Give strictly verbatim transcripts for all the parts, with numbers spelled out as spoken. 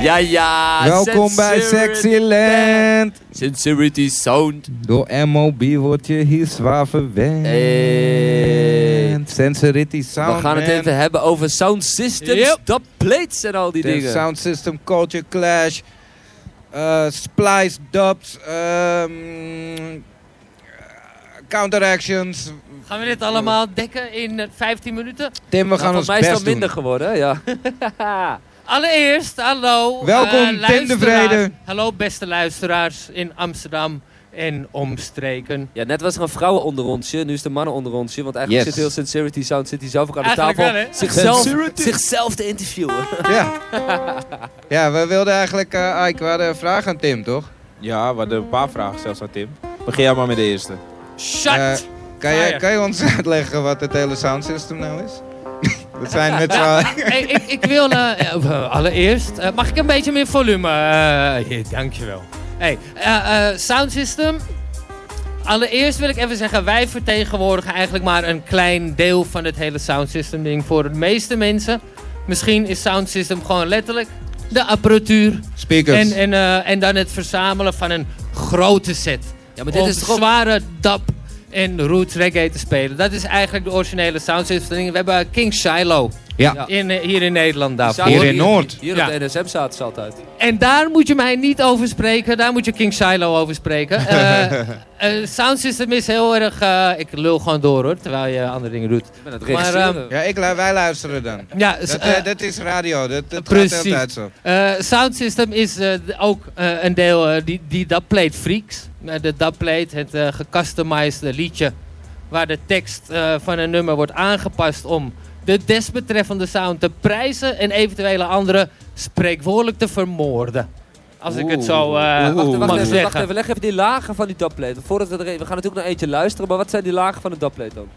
Ja, ja. Welkom bij Sexyland. Sincerity Sound. Door M O B word je hier zwaar verwend. Hey. Sincerity Sound. We gaan het man. even hebben over sound systems, Yep. dubplates en al die De dingen. sound system, culture clash, uh, splice dubs, um, counteractions. Gaan we dit allemaal dekken in uh, vijftien minuten? Tim, we gaan Nou, ons voor mij is het best al minder doen. geworden, hè? Ja. Allereerst, hallo. Welkom, uh, Tim de luisteraars. Vrede. Hallo beste luisteraars in Amsterdam en omstreken. Ja, net was er een vrouwenonderrondje, nu is de mannenonderrondje. Want eigenlijk Yes. zit heel Sincerity Sound zit hij zelf ook aan de Eigenlijk tafel. wel, hè? zichzelf, Sincerity. zichzelf te interviewen. Ja. Ja, we wilden eigenlijk, uh, Ike, we hadden een vraag aan Tim, toch? Ja, we hadden een paar vragen zelfs aan Tim. Begin jij maar met de eerste. Shut! Uh, kan, jij, Fire. kan je ons uitleggen wat het hele sound system nou is? Dat zijn met z'n allen. Hey, ik, ik wil uh, uh, allereerst, uh, mag ik een beetje meer volume? Uh, yeah, dankjewel. Hey, uh, uh, sound system. Allereerst wil ik even zeggen, wij vertegenwoordigen eigenlijk maar een klein deel van het hele sound system ding. Voor de meeste mensen, misschien is sound system gewoon letterlijk de apparatuur. Speakers. En, en, uh, en dan het verzamelen van een grote set. Ja, maar dit om is toch ook... zware dub en roots reggae te spelen. Dat is eigenlijk de originele sound system. We hebben King Shiloh Ja. Ja. in, uh, hier in Nederland daarvoor. Hier in Noord. Hier Ja. op de N S M zaten ze altijd. En daar moet je mij niet over spreken. Daar moet je King Shiloh over spreken. Uh, uh, sound system is heel erg... Uh, ik lul gewoon door hoor, terwijl je andere dingen doet. Ik ben het Maar, regisseren. Ja, ik, lu- wij luisteren dan. Ja, Dat, uh, eh, dat is radio, dat, dat gaat precies. de hele tijd zo. Uh, sound system is uh, d- ook uh, een deel, uh, die, die dubplate freaks. Uh, de dubplate, het uh, gecustomized liedje. Waar de tekst uh, van een nummer wordt aangepast om de desbetreffende sound te prijzen. En eventuele andere spreekwoordelijk te vermoorden. Als ik het zo uh, Wacht, wacht, mag even, zeggen. wacht even, leg even die lagen van die dubplate. Voordat we er we gaan natuurlijk naar eentje luisteren, maar wat zijn die lagen van de dubplate dan?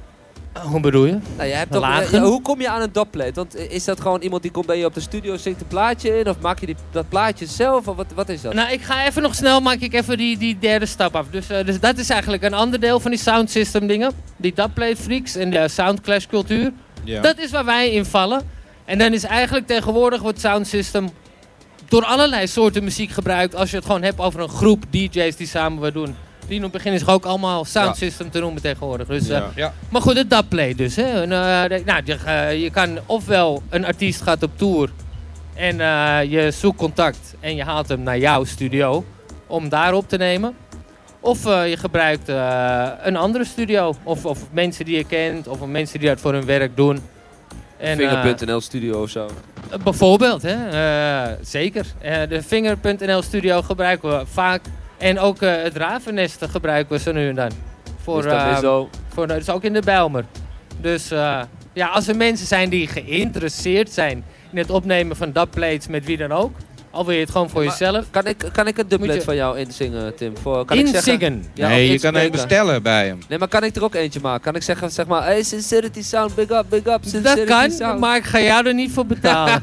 Hoe bedoel je? Nou, je hebt toch, Lagen? ja, hoe kom je aan een dubplate? Want is dat gewoon iemand die komt bij je op de studio, zingt een plaatje in? Of maak je die, dat plaatje zelf? Of wat, wat is dat? Nou, ik ga even nog snel, maak ik even die, die derde stap af. Dus, uh, dus dat is eigenlijk een ander deel van die sound system dingen. Die dubplate freaks en de soundclash cultuur. Ja. Dat is waar wij in vallen. En dan is eigenlijk tegenwoordig wordt sound system door allerlei soorten muziek gebruikt. Als je het gewoon hebt over een groep D J's die samen wat doen. Die in het begin is ook allemaal sound Ja. system te noemen tegenwoordig. Dus, uh, Ja. Ja. Maar goed, het dubplate dus. Hè. En, uh, de- nou, je, uh, je kan ofwel een artiest gaat op tour en uh, je zoekt contact en je haalt hem naar jouw studio om daar op te nemen. Of uh, je gebruikt uh, een andere studio. Of, of mensen die je kent. Of mensen die dat voor hun werk doen. En, uh, Vinger punt N L studio of zo. bijvoorbeeld, hè? Uh, zeker. Uh, de Vinger punt N L studio gebruiken we vaak. En ook uh, het Ravennest gebruiken we zo nu en dan. Voor, Dus dat uh, is zo. voor, dat is ook in de Bijlmer. Dus uh, ja, als er mensen zijn die geïnteresseerd zijn in het opnemen van dubplates met wie dan ook. Al wil je het gewoon voor Maar jezelf. Kan ik, kan ik een dubplate Moet je- van jou inzingen, Tim? Voor, kan ik zeggen, Inzingen. ja, nee, of je kan hem inspreken? bestellen bij hem. Nee, maar kan ik er ook eentje maken? Kan ik zeggen, zeg maar, hey, Sincerity Sound, big up, big up, Sincerity Dat kan, Sound. maar ik ga jou er niet voor betalen.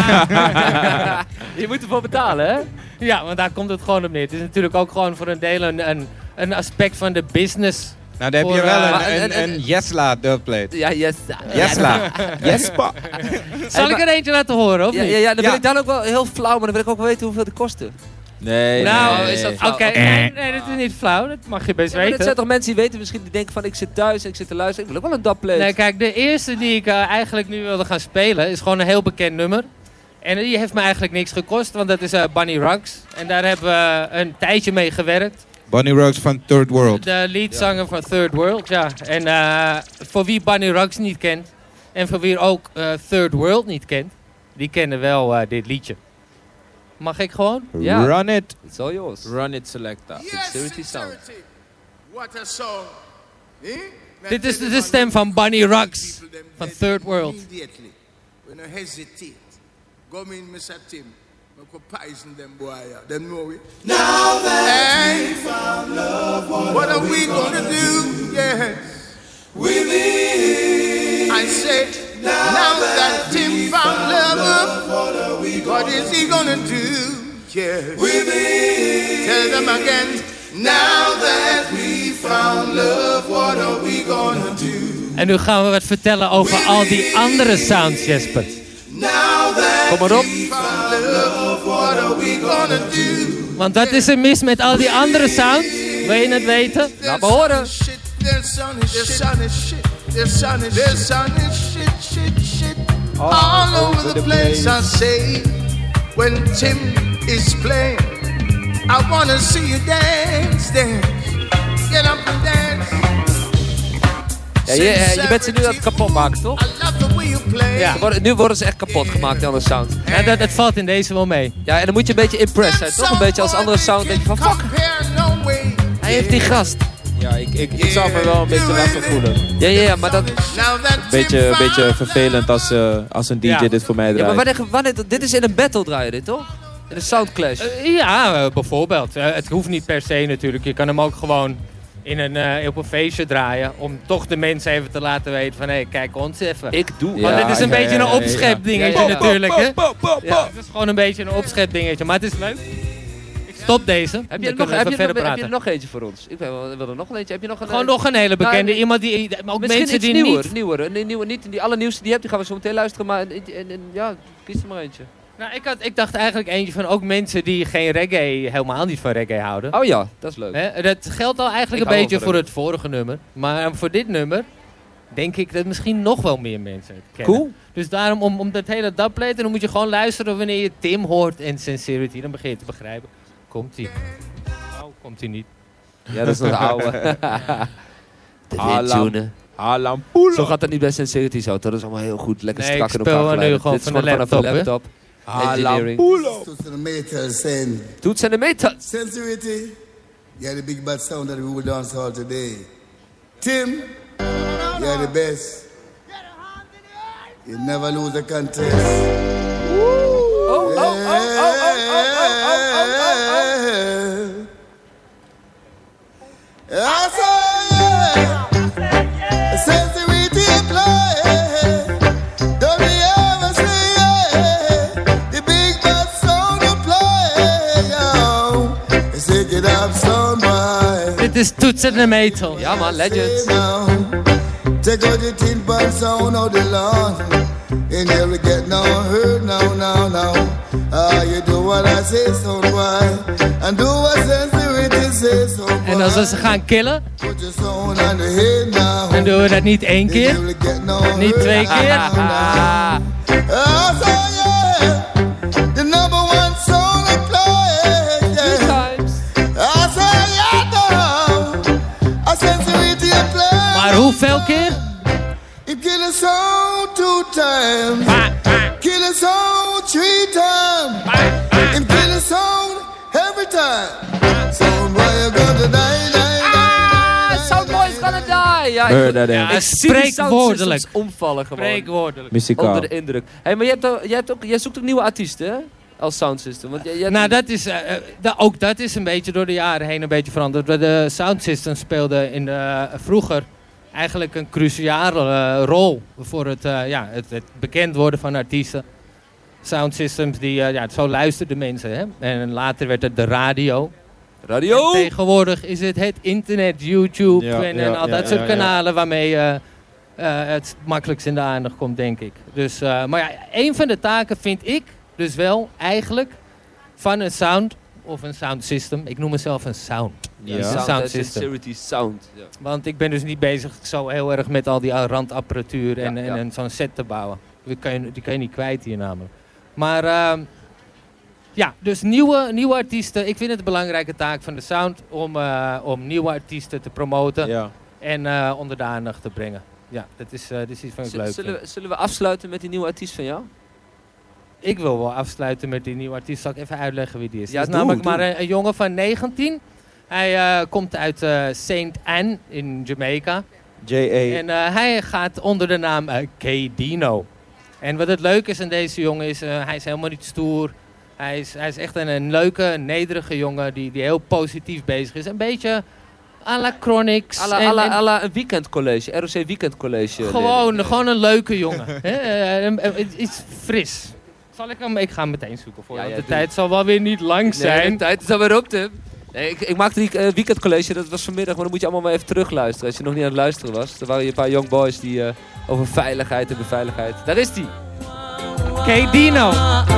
Je moet ervoor betalen, hè? Ja, want daar komt het gewoon op neer. Het is natuurlijk ook gewoon voor een deel een, een, een aspect van de business. Nou, dan heb je Voor, wel uh, een, maar een, en- en- een Yesla dubplate. Ja, yes. Yesla. Yespa. Zal ik er eentje laten horen, of Ja, niet? ja, ja, dan Ja. wil ik dan ook wel heel flauw, maar dan wil ik ook wel weten hoeveel het kostte. Nee, Nou, nee, is dat nee. flauw? Oké, Oké. nee, nee, dat is niet flauw. Dat mag je best Ja, maar dat weten. zijn toch mensen die weten misschien, die denken van ik zit thuis en ik zit te luisteren. Ik wil ook wel een dubplate. Nee, kijk, de eerste die ik uh, eigenlijk nu wilde gaan spelen is gewoon een heel bekend nummer. En die heeft me eigenlijk niks gekost, want dat is uh, Bunny Ruggs. En daar hebben we een tijdje mee gewerkt. Bunny Ruggs van Third World. De leadzanger van Third World, ja. En uh, voor wie Bunny Ruggs niet kent, en voor wie ook uh, Third World niet kent, die kennen wel uh, dit liedje. Mag ik gewoon? Ja. Run it. It's all yours. Run it, Selecta. Sincerity Sound. What a song. Eh? Dit is de, de stem van Bunny Ruggs van Third World. Immediately. We no hesitate. Go in, Mister Tim. We could poison them boy. yeah. Them know it. Now that we found love, what, what are we gonna do? Yes. With it. I said, now, now that Tim found love, what, are we what is he gonna do? Yes. With it. Tell them again. Now that we found love, what are we gonna do? En nu gaan we wat vertellen over al die andere sounds, Jesper. Now that Kom maar op. Want dat is er mis met al die andere sounds. Wil je het weten? Laat me horen. All over the place I say when Tim is playing. I wanna see you dance, dance. Get up and dance. Ja, je, je bent ze nu aan het kapot maken, toch? Ja. Worden, nu worden ze echt kapot gemaakt, die andere sound. Ja, dat, dat valt in deze wel mee. Ja, en dan moet je een beetje impressed zijn, toch? Een beetje als andere sound denk je van fuck. Hij heeft die gast. Ja, ik, ik, ik zou me wel een beetje lastig voelen. Ja, ja, ja, maar dat... Een beetje, een beetje vervelend als, uh, als een D J ja. dit voor mij draait. Ja, maar wanneer, wanneer, dit is in een battle draaien dit, toch? In een soundclash. Uh, ja, uh, bijvoorbeeld. Uh, het hoeft niet per se natuurlijk. Je kan hem ook gewoon in een, uh, op een feestje draaien. Om toch de mensen even te laten weten van... Hé, hey, kijk ons even. Ik doe. Want ja, dit is een ja, beetje ja, ja, een opschepdingetje ja, ja, ja. natuurlijk, hè? Ja. Het is gewoon een beetje een opschepdingetje. Maar het is leuk. Stop deze. Heb je, er nog, heb, je nog, heb je er nog eentje voor ons? Ik wil er nog een eentje. Heb je nog een, Gewoon nog een hele bekende. Nou, iemand die, ook mensen die nieuwer, niet... Nieuwer, nieuwer. Nieuwe, niet die allernieuwste die je hebt, die gaan we zo meteen luisteren. Maar en, en, en, ja, kies er maar eentje. Nou, ik, had, ik dacht eigenlijk eentje van ook mensen die geen reggae, helemaal niet van reggae houden. Oh ja, dat is leuk. He, dat geldt al eigenlijk ik een beetje voor het vorige nummer. Maar voor dit nummer denk ik dat misschien nog wel meer mensen het kennen. Cool. Dus daarom, om, om dat hele dubplate, dan moet je gewoon luisteren wanneer je Tim hoort en Sincerity. Dan begin je te begrijpen. Komt-ie. Oh, komt-ie niet. Ja, dat is nog de oude. De windtune. Alampulo. Zo gaat dat niet bij Sincerity zo. Dat is allemaal heel goed. Lekker nee, strak in elkaar geleid. Nu gewoon dit is van gewoon de vanaf laptop, de laptop. Engineering. Toets en de meters saying. Toets en de meters. Sincerity. You are the big bad sound that we will dance all today. Tim. You are the best. You never lose a contest. Oh, oh, oh, oh, oh, oh, oh, oh, oh. I say, yeah. Sincerity play. Don't we ever say, yeah. The big bad sound to play. Yo. Shake it up, sound boy. Dit is Toets en de Metal. Ja man, legend. Take out the tin pan sound of the lawn. And you'll get no hurt, no, no, no. Ah, you do what I say, so why? And do what Sincerity says, so why? En als we ze gaan killen, Put your sound on the head now. dan doen we dat niet één keer, You'll get no hurt, niet twee keer. Ah, so yeah, the number one song I play, yeah. I say yeah, no. I Sincerity I play. Maar hoeveel keer? It kill a soul two times. Kill a soul three times. It kill a soul every time. Soundboy you gonna die, die, die. Ah, Soundboy is gonna die. Ja, ik, ja, ik zie die spreekwoordelijk. omvallen gewoon. Spreekwoordelijk. Muzikaal. Onder de indruk. Hey, maar jij, hebt ook, jij, hebt ook, jij zoekt ook nieuwe artiesten, hè? Als Sound System. Want jij, jij Nou, dat is, uh, da, ook dat is een beetje door de jaren heen een beetje veranderd. De Sound System speelde in de, uh, vroeger eigenlijk een cruciale uh, rol voor het, uh, ja, het, het bekend worden van artiesten. Sound Systems, die, uh, ja, zo luisterden mensen. Hè? En later werd het de radio. Radio! En tegenwoordig is het het internet, YouTube Ja, en, ja, en al ja, dat soort ja, ja. kanalen waarmee uh, uh, het makkelijkst in de aandacht komt, denk ik. Dus, uh, maar ja, een van de taken vind ik dus wel eigenlijk van een sound of een sound system. Ik noem mezelf een sound. Ja, Een sound, sound uh, system. Sincerity Sound. Ja. Want ik ben dus niet bezig zo heel erg met al die randapparatuur en, Ja, en, ja. en zo'n set te bouwen. Die kan, je, die kan je niet kwijt hier namelijk. Maar uh, ja, dus nieuwe, nieuwe artiesten. Ik vind het een belangrijke taak van de sound om, uh, om nieuwe artiesten te promoten Ja. en uh, onder de aandacht te brengen. Ja, dat is, uh, dat is iets van ik leuk Zullen vind. we, zullen we afsluiten met die nieuwe artiest van jou? Ik wil wel afsluiten met die nieuwe artiest. Zal ik even uitleggen wie die is? Ja, Het is doe, namelijk doe. maar een, een jongen van negentien. Hij uh, komt uit uh, Saint Anne in Jamaica. J A. En uh, hij gaat onder de naam uh, K Dino. En wat het leuke is aan deze jongen is, uh, hij is helemaal niet stoer. Hij is, hij is echt een, een leuke, nederige jongen die, die heel positief bezig is. Een beetje à la Chronix. À la, en- à la, en- à la een weekendcollege, R O C weekendcollege. Gewoon, leerling. gewoon een leuke jongen. Hè? Eh, een- een- Iets fris. Zal ik hem? Ik ga hem meteen zoeken voor je, Ja, want ja, de doe. tijd zal wel weer niet lang Nee, zijn. de tijd is alweer op, Tim. Nee, ik, ik maakte die uh, weekendcollege, dat was vanmiddag, maar dan moet je allemaal maar even terugluisteren. Als je nog niet aan het luisteren was. Er waren hier een paar young boys die uh, over veiligheid en beveiligheid. Daar is die. Oké, Dino.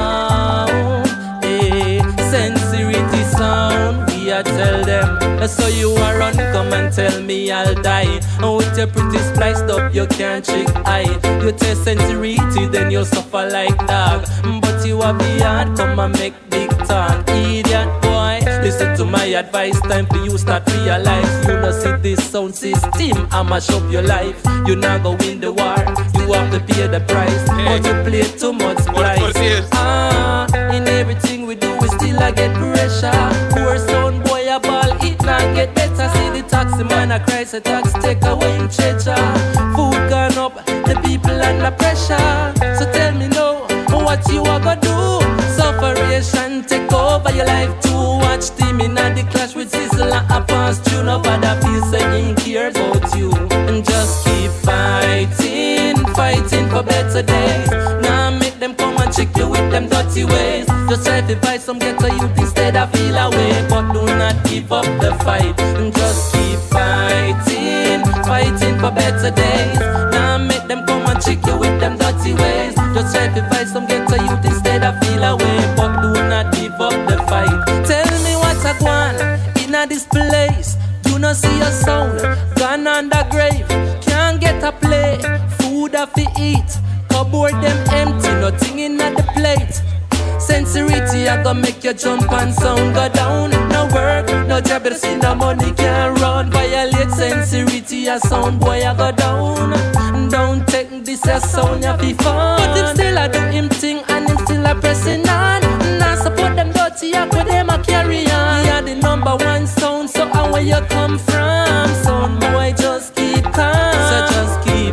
Sincerity sound, we are tell them. So you are run, come and tell me I'll die. And with your pretty spliced up, you can't trick I. You test sincerity, then you'll suffer like dog. But you are beyond, come and make big talk. Idiot boy, listen to my advice. Time for you start realize. You know see this sound system, I mash up your life. You not go win the war, you have to pay the price. But you play too much price. Ah, in everything we do, we still I get pressure. Poor sound boy a ball, it not get better. See the taxi man a cry, say tax take away him treasure. Food gone up, the people under pressure. So tell me now, what you a go do? Sufferation take over your life to watch team in the clash with Sizzle and a pass tune. Nobody feel say he care about you. And just keep fighting, fighting for better days. Now make them come and trick you with them dirty ways. Just try to fight some ghetto youth instead of feel away. But do not give up the fight. And just keep fighting, fighting for better days. Now make them come and trick you with them dirty ways. Just try to fight some ghetto youth instead of feel away. But do not give up the fight. Tell me what's a gone in a this place. Do not see a sound gone on the grave. Can't get a play, food have to eat. Cupboard them empty, nothing in the plate. Sincerity I gonna make you jump and sound go down. No work, no job, but see no money can run. Violate sincerity, a sound boy I go down. Don't take this as sound ya be fun. But him still a do him thing and him still a pressing on. Now support them dirty act with them a carry on. Yeah, the number one sound, so how where you come from? Sound boy just keep calm. So just keep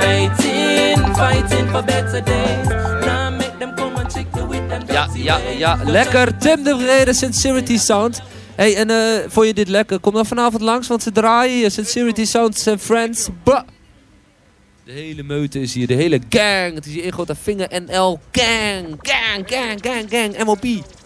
fighting, fighting for better days. Now make them come and trick you with them Ja, dirty ja, ways. ja. Lekker. Tim de Vrede, Sincerity Sound. Hey, en uh, vond je dit lekker? Kom dan vanavond langs, want ze draaien hier. Sincerity Sounds and Friends. Bah. De hele meute is hier, de hele gang. Het is hier één grote vinger N L gang. Gang, gang, gang, gang. M O P.